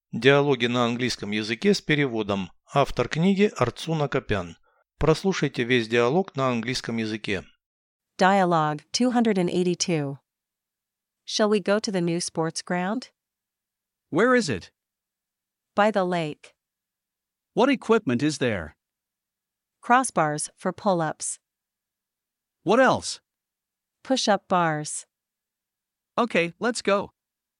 Диалоги на английском языке с переводом. Автор книги Арцуна Копян. Прослушайте весь диалог на английском языке. Dialogue 282. Shall we go to the new sports ground? Where is it? By the lake. What equipment is there? Crossbars for pull-ups. What else? Push-up bars. Okay, let's go.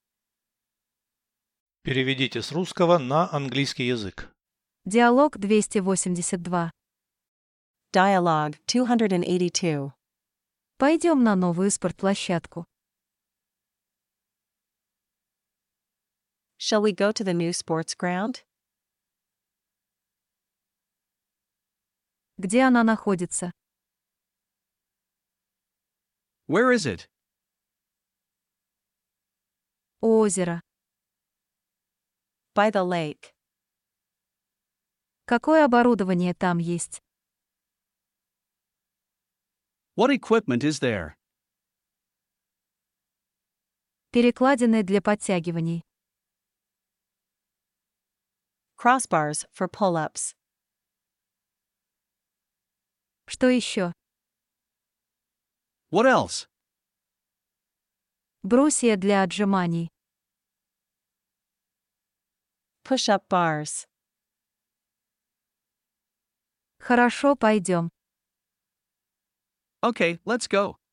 Переведите с русского на английский язык. Диалог 282. Dialogue 282. Пойдем на новую спортплощадку. Shall we go to the new sports ground? Где она находится? Where is it? У озера. By the lake. Какое оборудование там есть? What equipment is there? Перекладины для подтягиваний. Crossbars for pull-ups. Что еще? What else? Брусья для отжиманий. Push-up bars. Хорошо, пойдем. Okay, let's go.